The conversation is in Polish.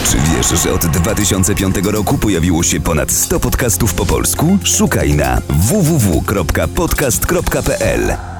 Czy wiesz, że od 2005 roku pojawiło się ponad 100 podcastów po polsku? Szukaj na www.podcast.pl.